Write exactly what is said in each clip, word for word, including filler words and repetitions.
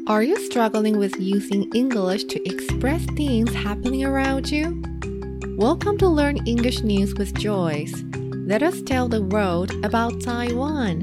Are you struggling with using English to express things happening around you? Welcome to Learn English News with Joyce. Let us tell the world about Taiwan.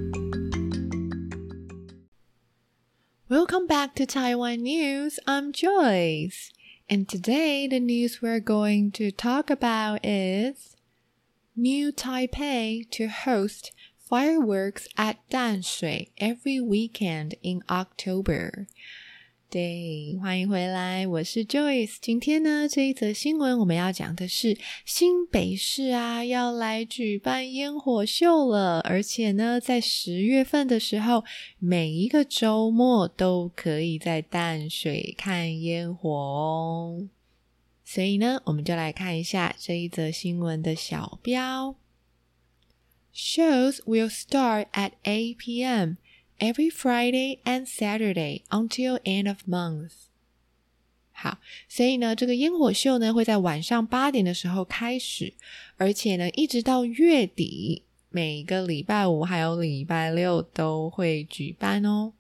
Welcome back to Taiwan News. I'm Joyce. And today the news we're going to talk about is New Taipei to host fireworks at 淡水 every weekend in October. 对，欢迎回来，我是 Joyce。今天呢，这一则新闻我们要讲的是新北市啊，要来举办烟火秀了，而且呢，在十月份的时候，每一个周末都可以在淡水看烟火哦。所以呢，我们就来看一下这一则新闻的小标。Shows will start at eight p.m. every Friday and Saturday until end of month. 好，所以呢，这个烟火秀呢会在晚上八点的时候开始，而且呢一直到月底，每个礼拜五还有礼拜六都会举办哦。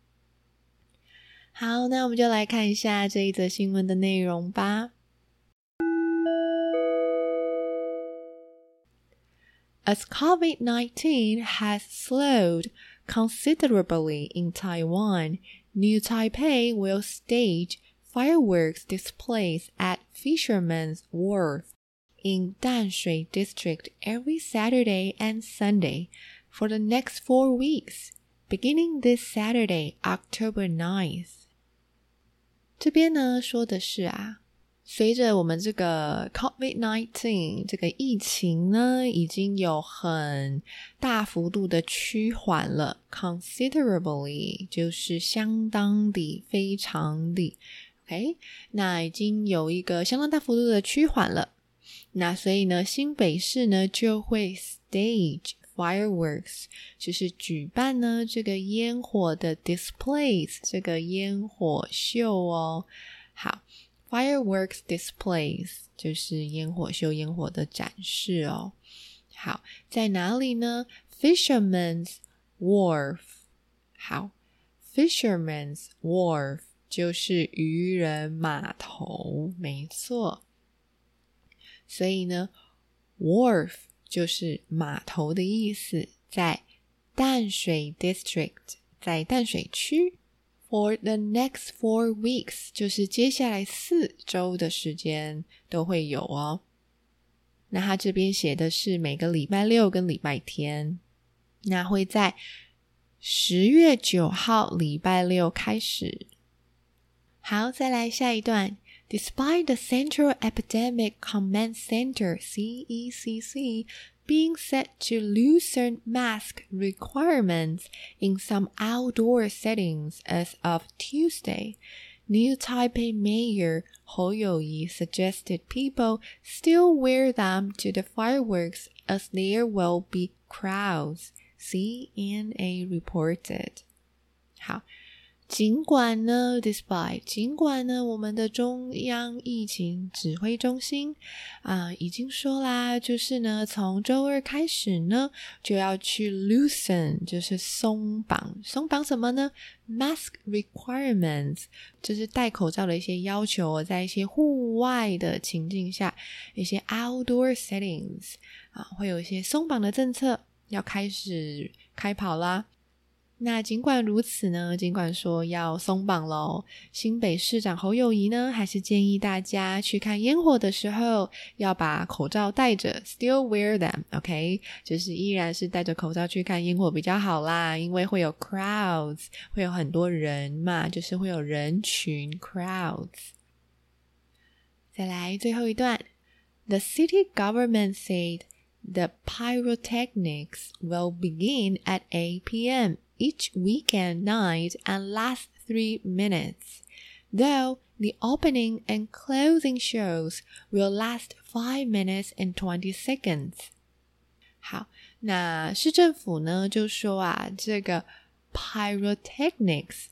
好，那我们就来看一下这一则新闻的内容吧。As COVID nineteen has slowed considerably in Taiwan, New Taipei will stage fireworks displays at Fisherman's Wharf in Danshui District every Saturday and Sunday for the next four weeks, beginning this Saturday, October ninth. 这边呢说的是啊，随着我们这个 COVID 十九 这个疫情呢已经有很大幅度的趋缓了， considerably 就是相当的非常的 OK， 那已经有一个相当大幅度的趋缓了，那所以呢新北市呢就会 stage fireworks 就是举办呢这个烟火的 displays 这个烟火秀哦。好Fireworks displays 就是烟火秀烟火的展示哦。好，在哪里呢？ Fisherman's Wharf 好 Fisherman's Wharf 就是渔人码头，没错。所以呢 Wharf 就是码头的意思，在淡水 District 在淡水区For the next four weeks 就是接下来四周的时间都会有哦。那他这边写的是每个礼拜六跟礼拜天，那会在十月九号礼拜六开始。好，再来下一段。Despite the Central Epidemic Command Center C E C C being set to loosen mask requirements in some outdoor settings as of Tuesday, New Taipei Mayor Hou You-yi suggested people still wear them to the fireworks as there will be crowds, C N A reported. 好，尽管呢 despite 尽管呢我们的中央疫情指挥中心啊、呃、已经说啦，就是呢从周二开始呢就要去 loosen 就是松绑，松绑什么呢？ mask requirements 就是戴口罩的一些要求，在一些户外的情境下，一些 outdoor settings 啊会有一些松绑的政策要开始开跑啦。那尽管如此呢，尽管说要松绑咯，新北市长侯友宜呢还是建议大家去看烟火的时候要把口罩戴着 still wear them OK 就是依然是戴着口罩去看烟火比较好啦，因为会有 crowds 会有很多人嘛，就是会有人群 crowds。 再来最后一段。 The city government said the pyrotechnics will begin at eight p.m. each weekend night and last three minutes, though the opening and closing shows will last five minutes and twenty seconds. 好，那市政府呢就说啊，这个 pyrotechnics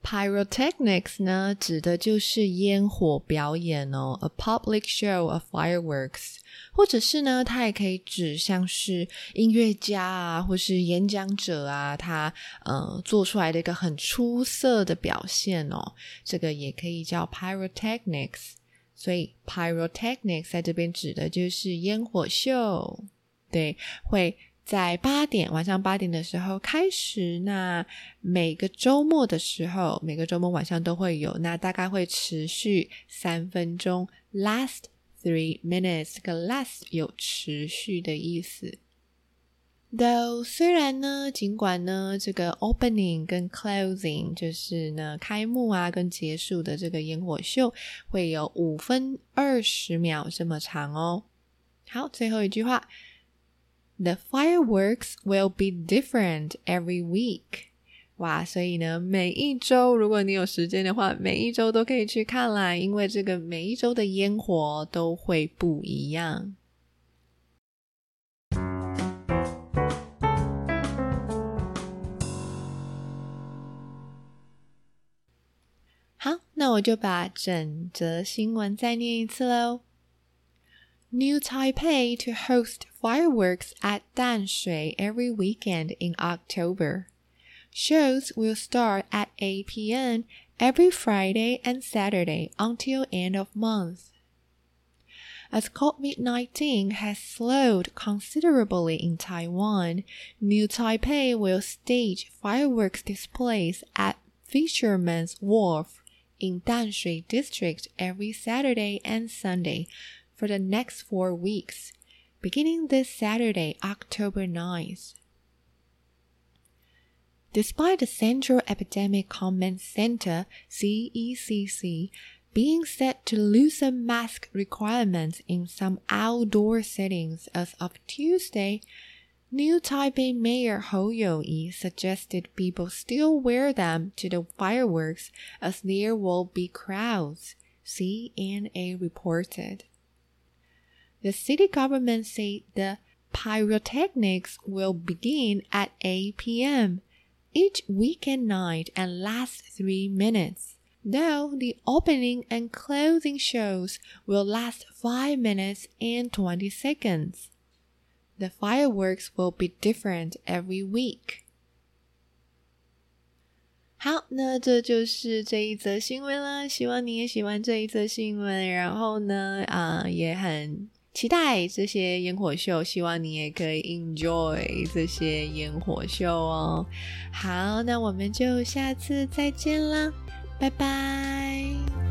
Pyrotechnics 呢，指的就是烟火表演哦 ，a public show of fireworks， 或者是呢，它也可以指像是音乐家啊，或是演讲者啊，他呃做出来的一个很出色的表现哦，这个也可以叫 Pyrotechnics。所以 Pyrotechnics 在这边指的就是烟火秀，对，会在八点晚上八点的时候开始，那每个周末的时候每个周末晚上都会有，那大概会持续三分钟 last three minutes， 这个 last 有持续的意思。Though 虽然呢尽管呢这个 opening 跟 closing 就是呢开幕啊跟结束的这个烟火秀会有五分二十秒这么长哦。好，最后一句话The fireworks will be different every week. 哇，所以呢，每一周如果你有时间的话，每一周都可以去看啦，因为这个每一周的烟火都会不一样。好，那我就把整则新闻再念一次咯。New Taipei to host fireworks at Danshui every weekend in October. Shows will start at eight p.m. every Friday and Saturday until end of month. As COVID nineteen has slowed considerably in Taiwan, New Taipei will stage fireworks displays at Fisherman's Wharf in Danshui District every Saturday and Sunday for the next four weeks, beginning this Saturday, October ninth. Despite the Central Epidemic Command Center, C E C C, being set to loosen mask requirements in some outdoor settings as of Tuesday, New Taipei Mayor Hou You-yi suggested people still wear them to the fireworks as there will be crowds, C N A reported. The city government said the pyrotechnics will begin at eight p.m. each weekend night and last three minutes, though the opening and closing shows will last five minutes and twenty seconds. The fireworks will be different every week. 好，那这就是这一则新闻了，希望你也喜欢这一则新闻，然后呢啊、呃，也很期待这些烟火秀，希望你也可以 enjoy 这些烟火秀哦。好，那我们就下次再见啦，拜拜。